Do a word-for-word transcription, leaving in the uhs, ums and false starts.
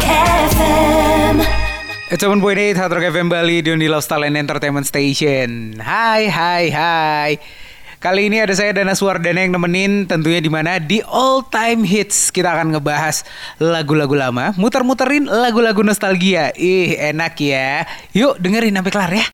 F M. It's seven point eight Hard Rock F M Bali di Lifestyle and Entertainment Station. Hai hai hai. Kali ini ada saya Dana Suwardana yang nemenin, tentunya di mana di All Time Hits. Kita akan ngebahas lagu-lagu lama, muter-muterin lagu-lagu nostalgia. Ih, enak ya. Yuk dengerin sampai kelar ya.